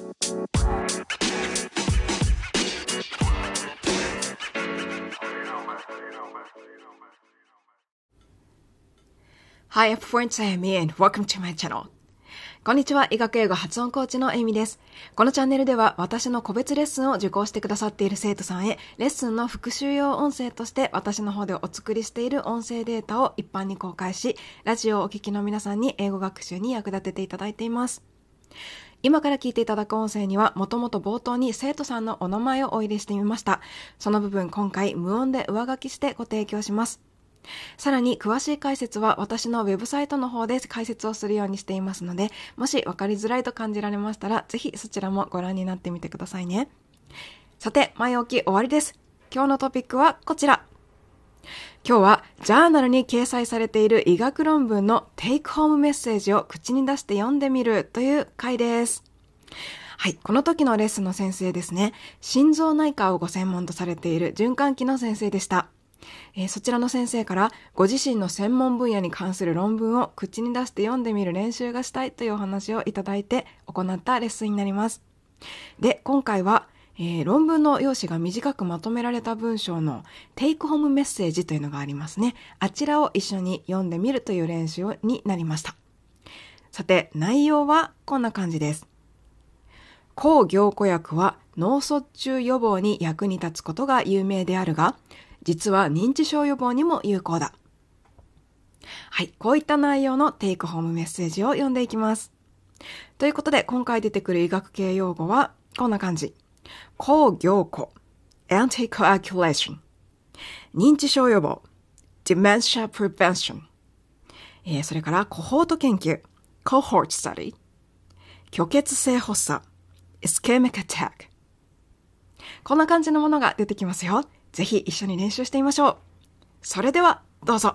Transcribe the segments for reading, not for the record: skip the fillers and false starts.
Hi everyone, I'm Amy and welcome to my channel. こんにちは、医学英語発音コーチのエイミです。このチャンネルでは私の個別レッスンを受講してくださっている生徒さんへ、レッスンの復習用音声として私の方でお作りしている音声データを一般に公開し、ラジオをお聞きの皆さんに英語学習に役立てていただいています。今から聞いていただく音声には、もともと冒頭に生徒さんのお名前をお入れしてみました。その部分今回無音で上書きしてご提供します。さらに詳しい解説は私のウェブサイトの方で解説をするようにしていますので、もし分かりづらいと感じられましたら、ぜひそちらもご覧になってみてくださいね。さて、前置き終わりです。今日のトピックはこちら。今日はジャーナルに掲載されている医学論文のテイクホームメッセージを口に出して読んでみるという回です。はい、この時のレッスンの先生ですね、心臓内科をご専門とされている循環器の先生でした。そちらの先生からご自身の専門分野に関する論文を口に出して読んでみる練習がしたいというお話をいただいて行ったレッスンになります。で、今回は、論文の用紙が短くまとめられた文章のテイクホームメッセージというのがありますね。あちらを一緒に読んでみるという練習になりました。さて、内容はこんな感じです。抗凝固薬は脳卒中予防に役に立つことが有名であるが、実は認知症予防にも有効だ。はい、こういった内容のテイクホームメッセージを読んでいきます。ということで、今回出てくる医学系用語はこんな感じ。抗凝固 Anticoagulation 認知症予防 Dementia Prevention、それからコホート研究 Cohort Study 虚血性発作 Ischemic Attack、 こんな感じのものが出てきますよ。ぜひ一緒に練習してみましょう。それではどうぞ。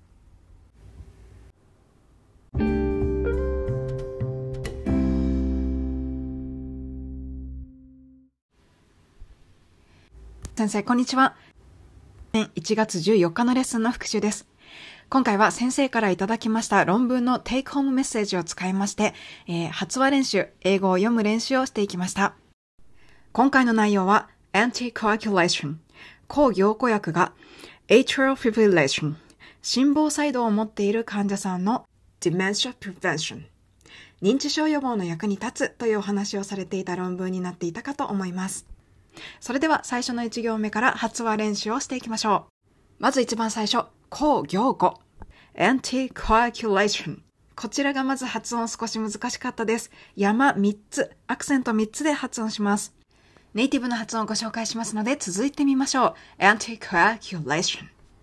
先生、こんにちは。1月14日のレッスンの復習です。今回は先生からいただきました論文のテイクホームメッセージを使いまして、発話練習、英語を読む練習をしていきました。今回の内容は Anticoagulation、抗凝固薬が Atrial Fibrillation、心房細動を持っている患者さんの Dementia Prevention、認知症予防の役に立つというお話をされていた論文になっていたかと思います。それでは最初の1行目から発話練習をしていきましょう。まず一番最初、抗凝固 Anticoagulation、 こちらがまず発音少し難しかったです。山3つ、アクセント3つで発音します。ネイティブの発音をご紹介しますので続いてみましょう。 Anticoagulation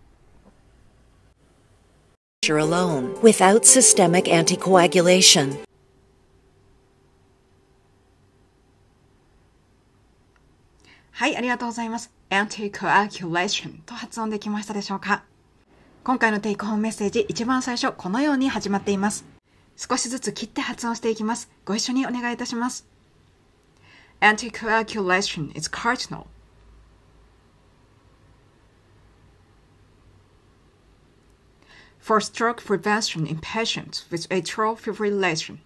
alone without systemic anticoagulation. はい、ありがとうございます。 Anticoagulation と発音できましたでしょうか。今回のテイクホームメッセージ、一番最初このように始まっています。少しずつ切って発音していきます。ご一緒にお願いいたします。Anticoagulation is cardinal. For stroke prevention in patients with atrial fibrillation.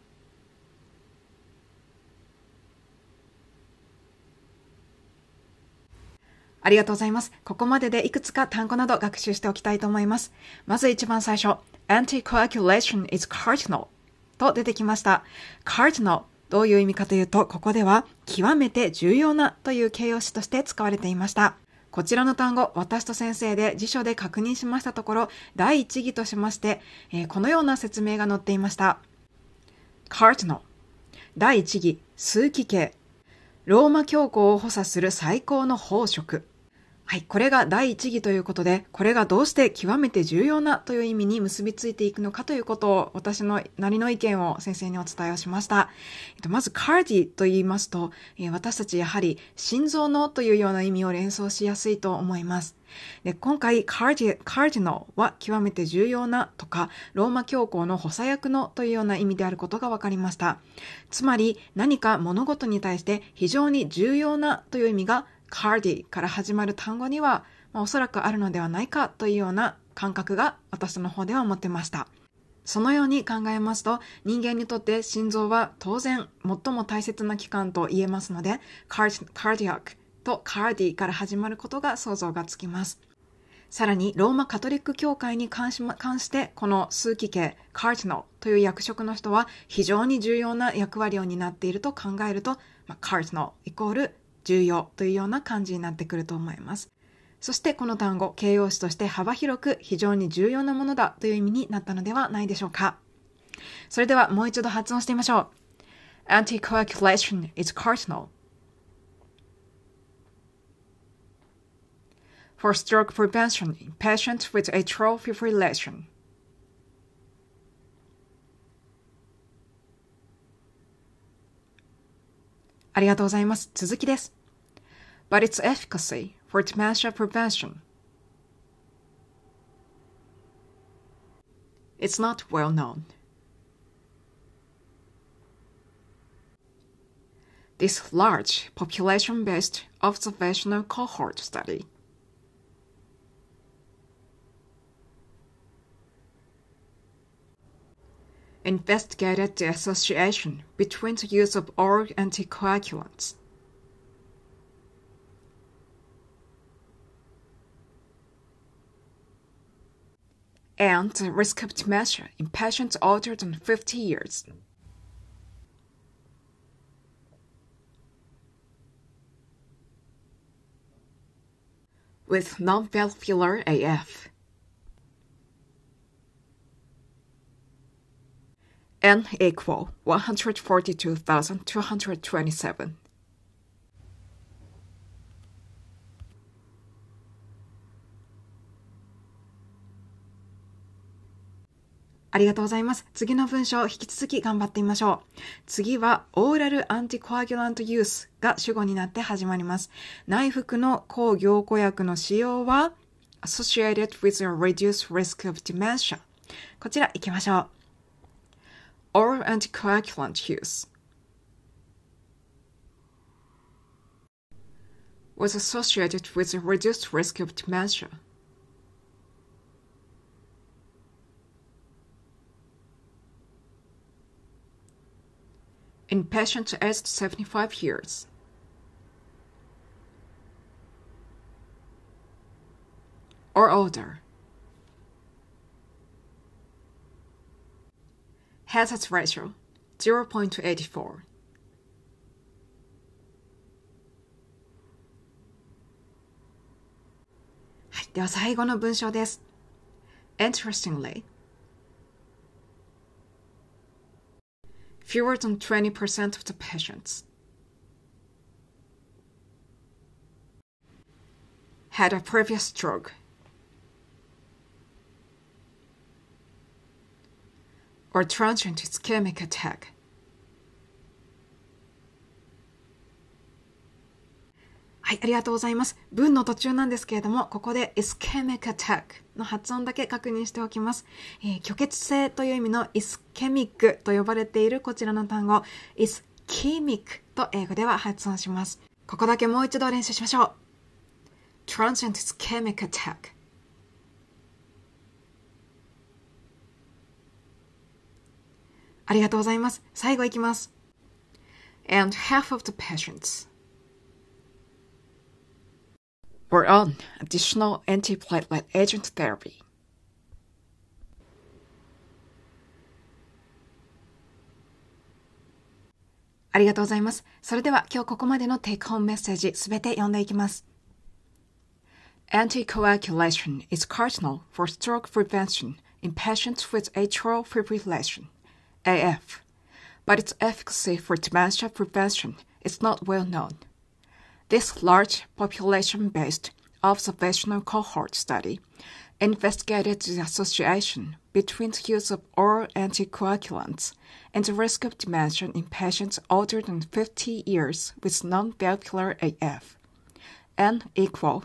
ありがとうございます。ここまででいくつか単語など学習しておきたいと思います。まず一番最初、Anticoagulation is cardinal と出てきました。Cardinal、どういう意味かというと、ここでは極めて重要なという形容詞として使われていました。こちらの単語、私と先生で辞書で確認しましたところ、第一義としまして、このような説明が載っていました。Cardinal、第一義、数奇形、ローマ教皇を補佐する最高の宝飾。はい、これが第一義ということで、これがどうして極めて重要なという意味に結びついていくのかということを、私のなりの意見を先生にお伝えをしました。まずカーディと言いますと、私たちやはり心臓のというような意味を連想しやすいと思います。で、今回カーディナルは極めて重要なとか、ローマ教皇の補佐役のというような意味であることが分かりました。つまり何か物事に対して非常に重要なという意味がカーディから始まる単語には、おそらくあるのではないかというような感覚が私の方では持ってました。 そのように考えますと、人間にとって心臓は当然最も大切な器官と言えますので、cardiac と cardi から始まることが想像がつきます。さらに、ローマカトリック教会に関して、この数奇系、カーディナルという役職の人は非常に重要な役割を担っていると考えると、カーディナルイコール重要というような感じになってくると思います。そしてこの単語、形容詞として幅広く非常に重要なものだという意味になったのではないでしょうか。それではもう一度発音してみましょう。Anticoagulation is cardinal.For stroke prevention in patients with atrial fibrillation. ありがとうございます。続きです。But its efficacy for dementia prevention. It's not well known. This large population-based observational cohort study.Investigated the association between the use of oral anticoagulants and the risk of dementia in patients older than 50 years. With non-valvular AF.N equal 142,227. ありがとうございます。次の文章を引き続き頑張ってみましょう。次はオーラルアンティコアギュラントユースが主語になって始まります。内服の抗凝固薬の使用は associated with a reduced risk of dementia。こちら行きましょう。Oral anticoagulant use was associated with a reduced risk of dementia. In patients aged 75 years. Or older. Hazard ratio 0.84. はい、では最後の文章です。Interestingly, fewer than 20% of the patients had a previous stroke or transient ischemic attack. はい、ありがとうございます。文の途中なんですけれども、ここで ischemic attack の発音だけ確認しておきます。虚血性という意味の ischemic と呼ばれているこちらの単語、ischemic と英語では発音します。ここだけもう一度練習しましょう。transient ischemic attack。ありがとうございます。最後いきます。And half of the patients were on additional antiplatelet agent therapy. ありがとうございます。それでは今日ここまでのテイクホームメッセージすべて読んでいきます。Anticoagulation is cardinal for stroke prevention in patients with atrial fibrillation, AF, but its efficacy for dementia prevention is not well known.This large population-based observational cohort study investigated the association between the use of oral anticoagulants and the risk of dementia in patients older than 50 years with non-valvular AF, N equal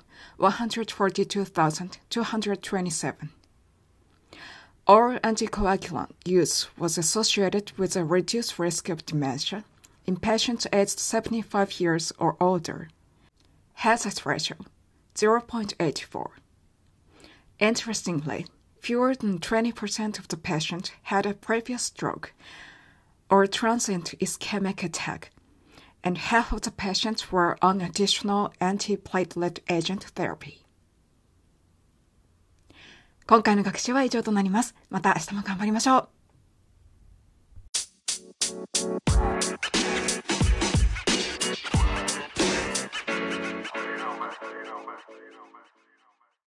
142,227. Oral anticoagulant use was associated with a reduced risk of dementia in patients aged 75 years or older. Hazard ratio 0.84. Interestingly, fewer than 20% of the patients had a previous stroke or transient ischemic attack, and half of the patients were on additional antiplatelet agent therapy. 今回の学習は以上となります。また明日も頑張りましょう。